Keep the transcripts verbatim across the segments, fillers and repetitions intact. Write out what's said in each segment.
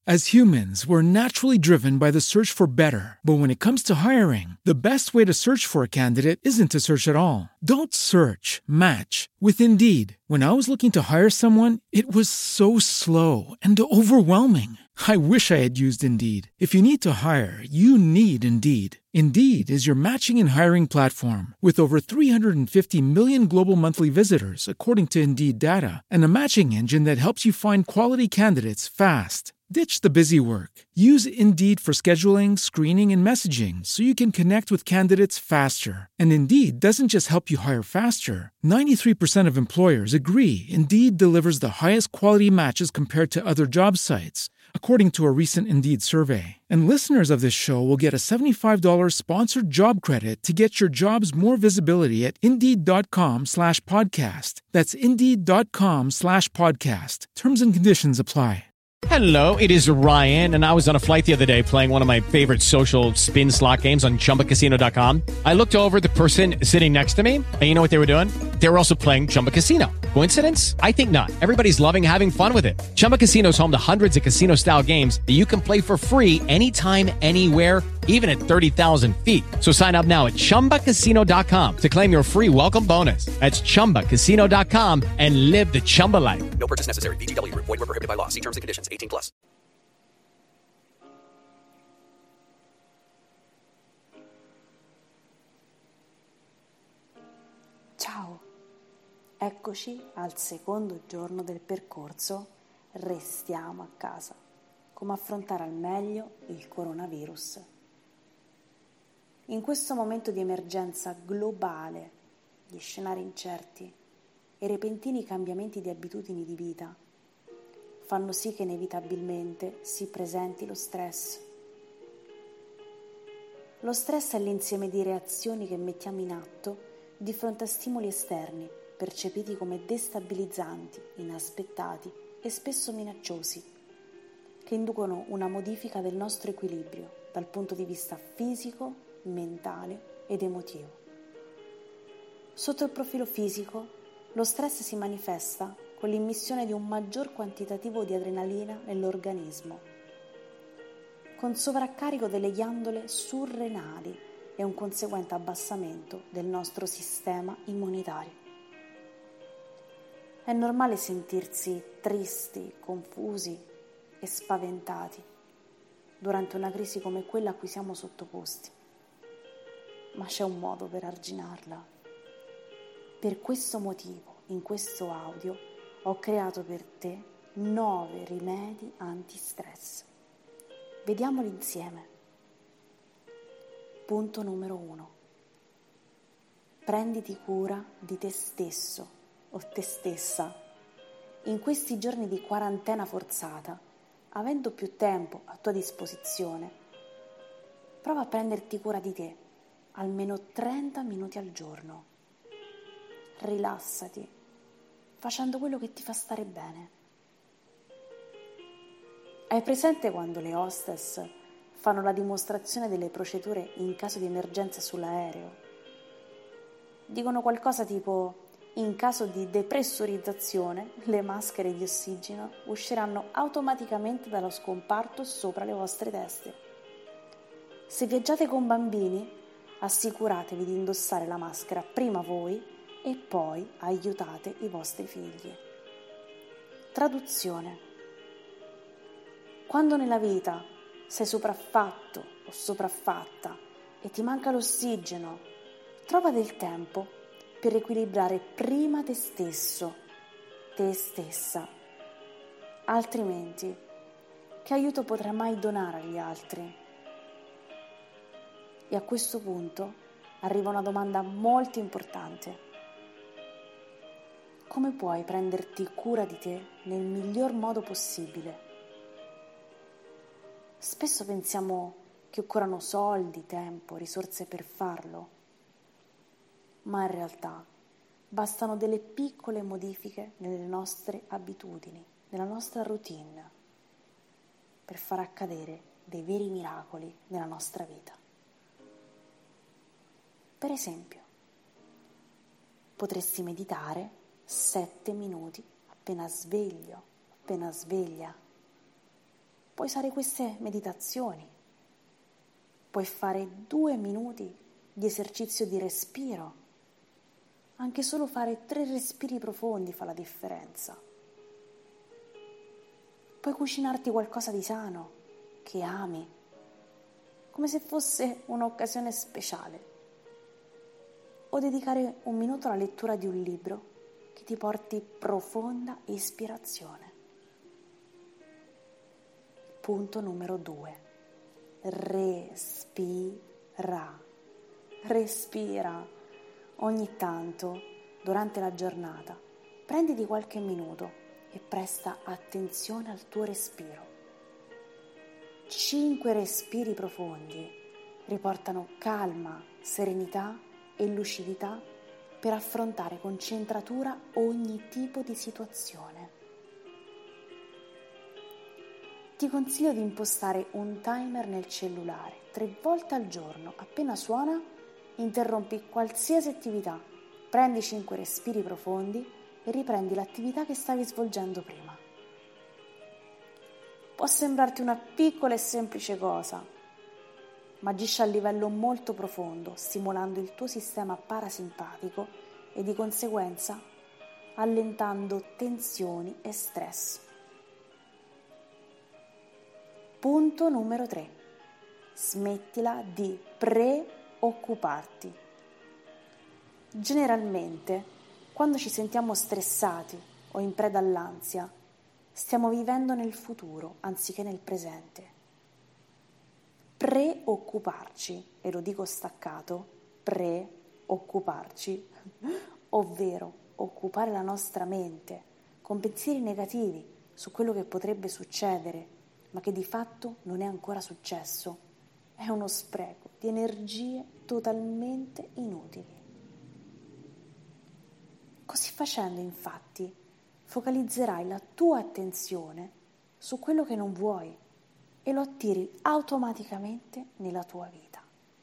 As humans, we're naturally driven by the search for better. But when it comes to hiring, the best way to search for a candidate isn't to search at all. Don't search, match with Indeed. When I was looking to hire someone, it was so slow and overwhelming. I wish I had used Indeed. If you need to hire, you need Indeed. Indeed is your matching and hiring platform with over three hundred fifty million global monthly visitors, according to Indeed data, and a matching engine that helps you find quality candidates fast. Ditch the busy work. Use Indeed for scheduling, screening, and messaging so you can connect with candidates faster. And Indeed doesn't just help you hire faster. ninety-three percent of employers agree Indeed delivers the highest quality matches compared to other job sites, according to a recent Indeed survey. And listeners of this show will get a seventy-five dollars sponsored job credit to get your jobs more visibility at Indeed.com slash podcast. That's Indeed.com slash podcast. Terms and conditions apply. Hello, it is Ryan, and I was on a flight the other day playing one of my favorite social spin slot games on Chumba Casino dot com. I looked over at the person sitting next to me, and you know what they were doing? They were also playing Chumba Casino. Coincidence? I think not. Everybody's loving having fun with it. Chumba Casino is home to hundreds of casino-style games that you can play for free anytime, anywhere, even at thirty thousand feet. So sign up now at Chumba Casino dot com to claim your free welcome bonus. That's Chumba Casino dot com and live the Chumba life. No purchase necessary. V G W. Void where prohibited by law. See terms and conditions. eighteen plus. Ciao, eccoci al secondo giorno del percorso Restiamo a casa. Come affrontare al meglio il coronavirus. In questo momento di emergenza globale, di scenari incerti e repentini cambiamenti di abitudini di vita fanno sì che inevitabilmente si presenti lo stress. Lo stress è l'insieme di reazioni che mettiamo in atto di fronte a stimoli esterni percepiti come destabilizzanti, inaspettati e spesso minacciosi, che inducono una modifica del nostro equilibrio dal punto di vista fisico, mentale ed emotivo. Sotto il profilo fisico, lo stress si manifesta con l'immissione di un maggior quantitativo di adrenalina nell'organismo, con sovraccarico delle ghiandole surrenali e un conseguente abbassamento del nostro sistema immunitario. È normale sentirsi tristi, confusi e spaventati durante una crisi come quella a cui siamo sottoposti, ma c'è un modo per arginarla. Per questo motivo, in questo audio, ho creato per te nove rimedi anti-stress. Vediamoli insieme. Punto numero uno. Prenditi cura di te stesso o te stessa. In questi giorni di quarantena forzata, avendo più tempo a tua disposizione, prova a prenderti cura di te, almeno trenta minuti al giorno. Rilassati, facendo quello che ti fa stare bene. Hai presente quando le hostess fanno la dimostrazione delle procedure in caso di emergenza sull'aereo? Dicono qualcosa tipo: in caso di depressurizzazione, le maschere di ossigeno usciranno automaticamente dallo scomparto sopra le vostre teste. Se viaggiate con bambini, assicuratevi di indossare la maschera prima voi e poi aiutate i vostri figli. Traduzione: quando nella vita sei sopraffatto o sopraffatta e ti manca l'ossigeno, trova del tempo per equilibrare prima te stesso, te stessa. Altrimenti, che aiuto potrai mai donare agli altri? E a questo punto arriva una domanda molto importante. Come puoi prenderti cura di te nel miglior modo possibile? Spesso pensiamo che occorrano soldi, tempo, risorse per farlo, ma in realtà bastano delle piccole modifiche nelle nostre abitudini, nella nostra routine, per far accadere dei veri miracoli nella nostra vita. Per esempio, potresti meditare sette minuti appena sveglio, appena sveglia. puoi usare queste meditazioni. Puoi fare due minuti di esercizio di respiro. Anche solo fare tre respiri profondi fa la differenza. Puoi cucinarti qualcosa di sano, che ami, come se fosse un'occasione speciale. O dedicare un minuto alla lettura di un libro che ti porti profonda ispirazione. Punto numero due. Respira. Respira. Ogni tanto, durante la giornata, prenditi qualche minuto e presta attenzione al tuo respiro. Cinque respiri profondi riportano calma, serenità e lucidità per affrontare con centratura ogni tipo di situazione. Ti consiglio di impostare un timer nel cellulare. Tre volte al giorno, appena suona, interrompi qualsiasi attività, prendi cinque respiri profondi e riprendi l'attività che stavi svolgendo prima. Può sembrarti una piccola e semplice cosa, ma agisce a livello molto profondo, stimolando il tuo sistema parasimpatico e di conseguenza allentando tensioni e stress. Punto numero tre. Smettila di preoccuparti. Generalmente, quando ci sentiamo stressati o in preda all'ansia, stiamo vivendo nel futuro anziché nel presente. Preoccuparci, e lo dico staccato, preoccuparci, ovvero occupare la nostra mente con pensieri negativi su quello che potrebbe succedere, ma che di fatto non è ancora successo, è uno spreco di energie totalmente inutili. Così facendo, infatti, focalizzerai la tua attenzione su quello che non vuoi e lo attiri automaticamente nella tua vita.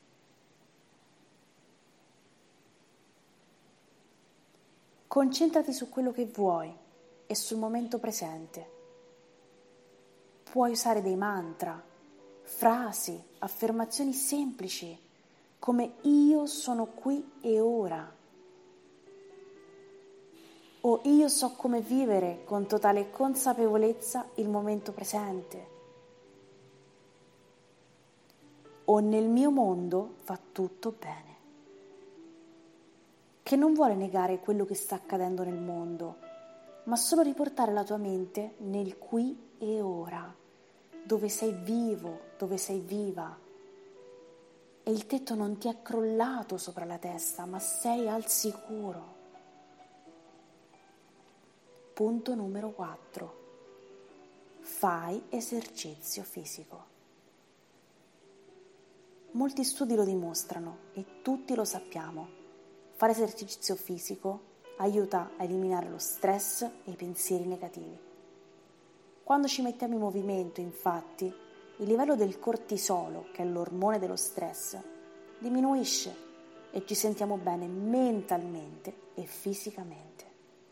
Concentrati su quello che vuoi e sul momento presente. Puoi usare dei mantra, frasi, affermazioni semplici, come io sono qui e ora, o io so come vivere con totale consapevolezza il momento presente, o nel mio mondo va tutto bene, che non vuole negare quello che sta accadendo nel mondo, ma solo riportare la tua mente nel qui e ora, dove sei vivo, dove sei viva, e il tetto non ti è crollato sopra la testa, ma sei al sicuro. Punto numero quattro. Fai esercizio fisico. Molti studi lo dimostrano e tutti lo sappiamo. Fare esercizio fisico aiuta a eliminare lo stress e i pensieri negativi. Quando ci mettiamo in movimento, infatti, il livello del cortisolo, che è l'ormone dello stress, diminuisce e ci sentiamo bene mentalmente e fisicamente.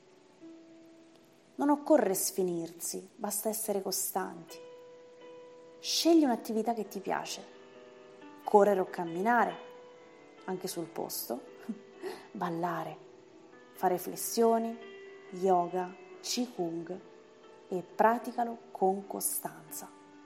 Non occorre sfinirsi, basta essere costanti. Scegli un'attività che ti piace, correre o camminare, anche sul posto, ballare, fare flessioni, yoga, qigong e praticalo con costanza.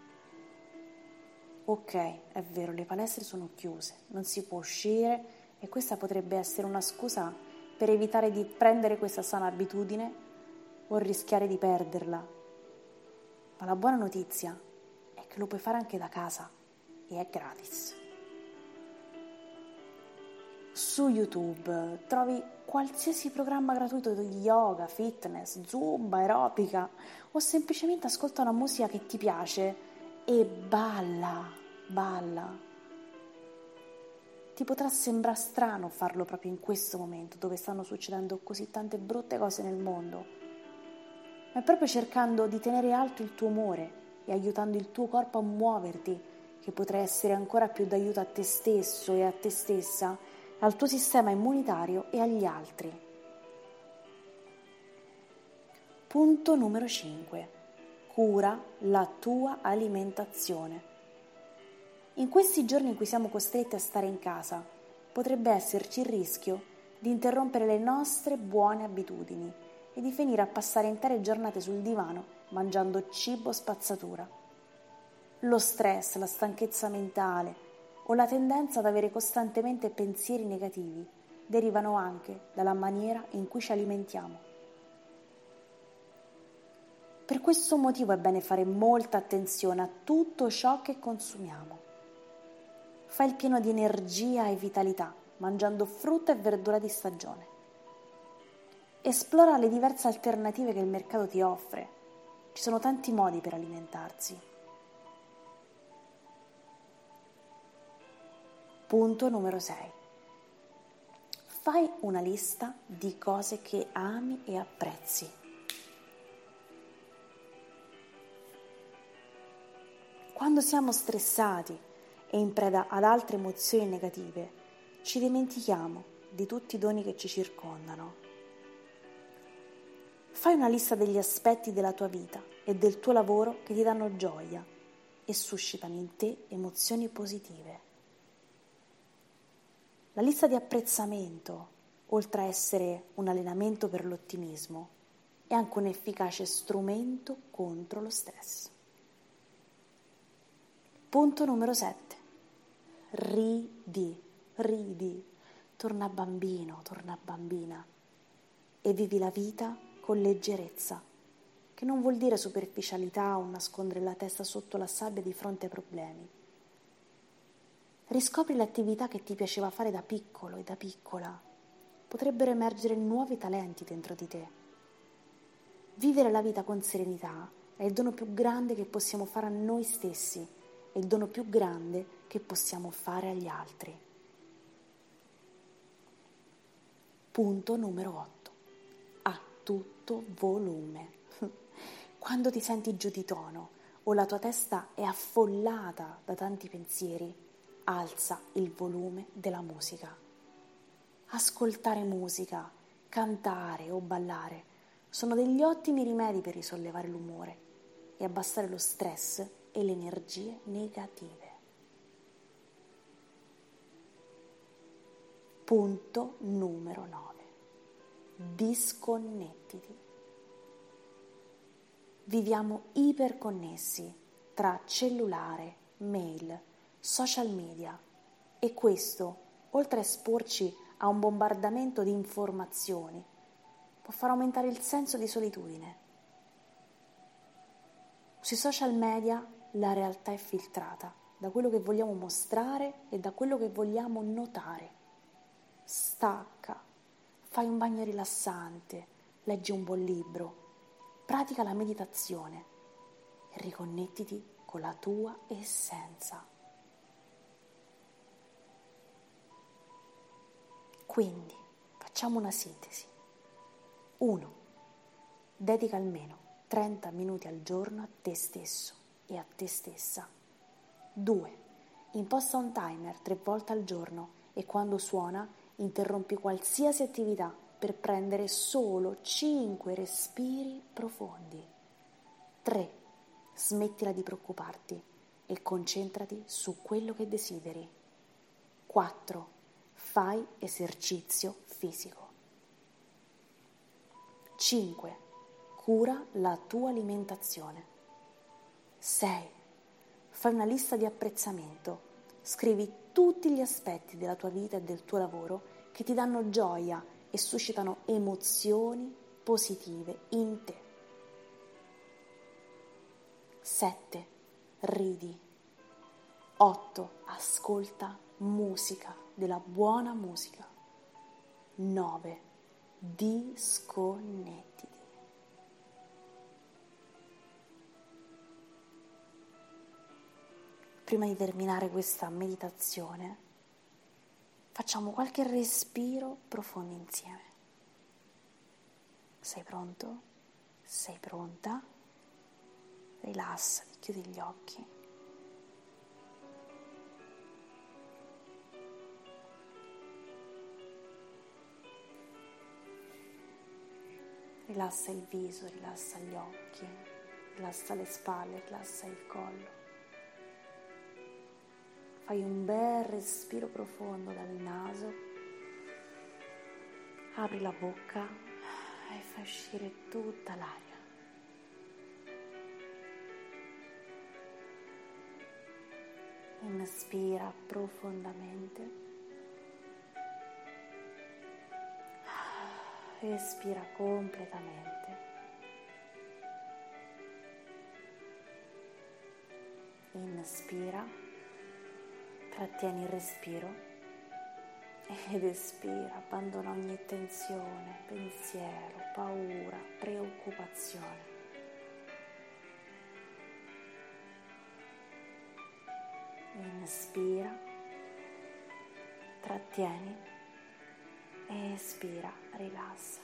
Ok, è vero, le palestre sono chiuse, non si può uscire e questa potrebbe essere una scusa per evitare di prendere questa sana abitudine o rischiare di perderla. Ma la buona notizia è che lo puoi fare anche da casa e è gratis. Su YouTube trovi qualsiasi programma gratuito di yoga, fitness, zumba, aerobica o semplicemente ascolta una musica che ti piace e balla, balla. Ti potrà sembrare strano farlo proprio in questo momento dove stanno succedendo così tante brutte cose nel mondo, ma è proprio cercando di tenere alto il tuo umore e aiutando il tuo corpo a muoverti che potrai essere ancora più d'aiuto a te stesso e a te stessa, al tuo sistema immunitario e agli altri. Punto numero cinque. cura la tua alimentazione. In questi giorni in cui siamo costretti a stare in casa, potrebbe esserci il rischio di interrompere le nostre buone abitudini e di finire a passare intere giornate sul divano mangiando cibo spazzatura. Lo stress, la stanchezza mentale o la tendenza ad avere costantemente pensieri negativi derivano anche dalla maniera in cui ci alimentiamo. Per questo motivo è bene fare molta attenzione a tutto ciò che consumiamo. Fai il pieno di energia e vitalità, mangiando frutta e verdura di stagione. Esplora le diverse alternative che il mercato ti offre. Ci sono tanti modi per alimentarsi. Punto numero sei. Fai una lista di cose che ami e apprezzi. Quando siamo stressati e in preda ad altre emozioni negative, ci dimentichiamo di tutti i doni che ci circondano. Fai una lista degli aspetti della tua vita e del tuo lavoro che ti danno gioia e suscitano in te emozioni positive. La lista di apprezzamento, oltre a essere un allenamento per l'ottimismo, è anche un efficace strumento contro lo stress. Punto numero sette. Ridi, ridi, torna bambino, torna bambina e vivi la vita con leggerezza, che non vuol dire superficialità o nascondere la testa sotto la sabbia di fronte ai problemi. Riscopri le attività che ti piaceva fare da piccolo e da piccola. Potrebbero emergere nuovi talenti dentro di te. Vivere la vita con serenità è il dono più grande che possiamo fare a noi stessi, è il dono più grande che possiamo fare agli altri. Punto numero otto. A tutto volume. Quando ti senti giù di tono o la tua testa è affollata da tanti pensieri, alza il volume della musica. Ascoltare musica, cantare o ballare sono degli ottimi rimedi per risollevare l'umore e abbassare lo stress e le energie negative. Punto numero nove. Disconnettiti. Viviamo iperconnessi tra cellulare, mail, social media e questo, oltre a esporci a un bombardamento di informazioni, può far aumentare il senso di solitudine. Sui social media la realtà è filtrata da quello che vogliamo mostrare e da quello che vogliamo notare. Stacca, fai un bagno rilassante, leggi un buon libro, pratica la meditazione e riconnettiti con la tua essenza. Quindi, facciamo una sintesi. uno. Dedica almeno trenta minuti al giorno a te stesso e a te stessa. due. Imposta un timer tre volte al giorno e quando suona interrompi qualsiasi attività per prendere solo cinque respiri profondi. tre. Smettila di preoccuparti e concentrati su quello che desideri. quattro. Fai esercizio fisico. cinque. Cura la tua alimentazione. sei. Fai una lista di apprezzamento. Scrivi tutti gli aspetti della tua vita e del tuo lavoro che ti danno gioia e suscitano emozioni positive in te. sette. Ridi. otto. Ascolta musica, della buona musica. nove. Disconnettiti. Prima di terminare questa meditazione, facciamo qualche respiro profondo insieme. Sei pronto? Sei pronta? Rilassati, chiudi gli occhi. Rilassa il viso, rilassa gli occhi. Rilassa le spalle, rilassa il collo. Fai un bel respiro profondo dal naso. Apri la bocca e fai uscire tutta l'aria. Inspira profondamente. Espira completamente. Inspira, trattieni il respiro ed espira, abbandona ogni tensione, pensiero, paura, preoccupazione. Inspira, trattieni e espira, rilassa.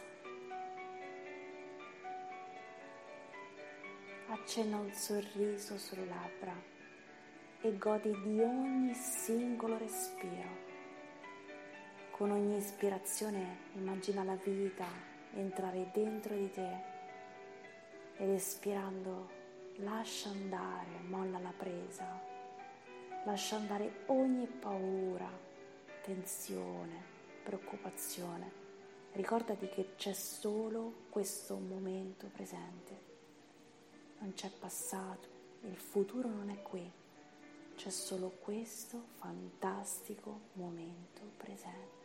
Accenna un sorriso sulle labbra e godi di ogni singolo respiro. Con ogni ispirazione immagina la vita entrare dentro di te ed espirando lascia andare, molla la presa, lascia andare ogni paura, tensione, preoccupazione. Ricordati che c'è solo questo momento presente. Non c'è passato, il futuro non è qui. C'è solo questo fantastico momento presente.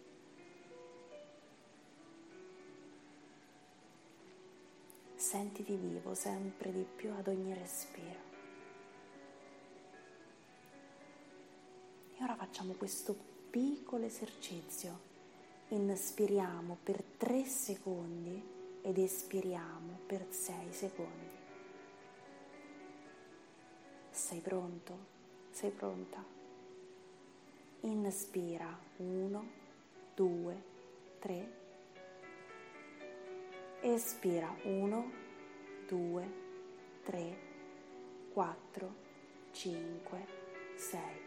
Sentiti vivo sempre di più ad ogni respiro. E ora facciamo questo piccolo esercizio. Inspiriamo per tre secondi ed espiriamo per sei secondi. Sei pronto? Sei pronta? Inspira uno, due, tre. Espira uno, due, tre, quattro, cinque, sei.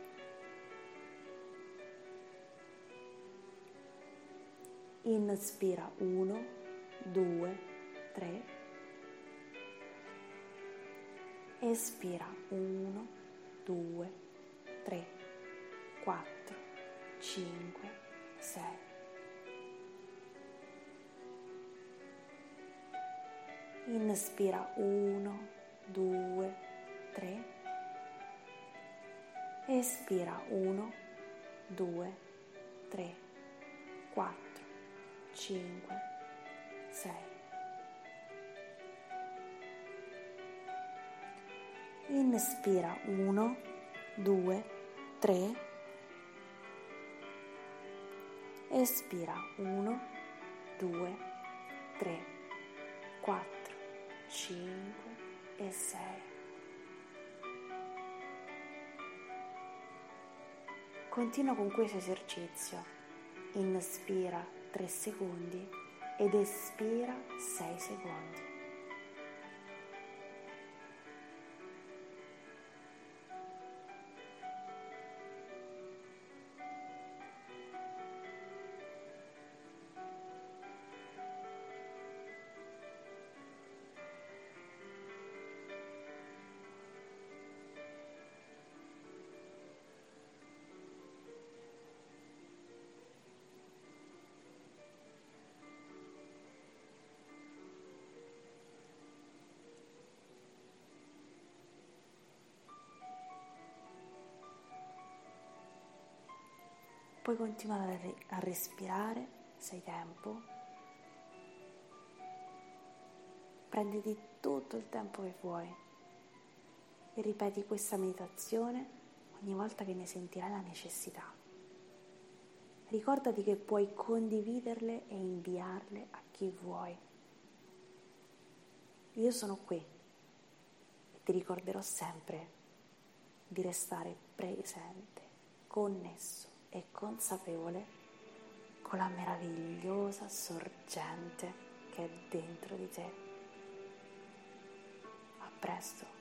Inspira uno, due, tre. Espira uno, due, tre, quattro, cinque, sei. Inspira uno, due, tre. Espira uno, due, tre, quattro, cinque, sei. Inspira uno, due, tre. Espira uno, due, tre, quattro, cinque e sei. Continua con questo esercizio. Inspira tre secondi ed espira sei secondi. Puoi continuare a respirare se hai tempo. Prenditi tutto il tempo che vuoi e ripeti questa meditazione ogni volta che ne sentirai la necessità. Ricordati che puoi condividerle e inviarle a chi vuoi. Io sono qui e ti ricorderò sempre di restare presente, connesso e consapevole con la meravigliosa sorgente che è dentro di te. A presto.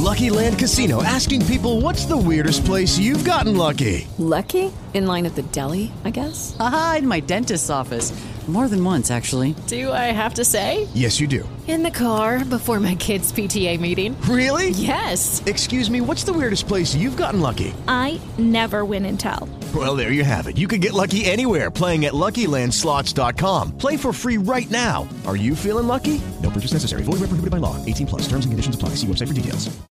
Lucky Land Casino, asking people, what's the weirdest place you've gotten lucky? Lucky? In line at the deli, I guess? Aha, in my dentist's office. More than once, actually. Do I have to say? Yes, you do. In the car before my kids' P T A meeting. Really? Yes. Excuse me, what's the weirdest place you've gotten lucky? I never win and tell. Well, there you have it. You can get lucky anywhere, playing at Lucky Land Slots dot com. Play for free right now. Are you feeling lucky? No purchase necessary. Void where prohibited by law. eighteen plus. Terms and conditions apply. See website for details.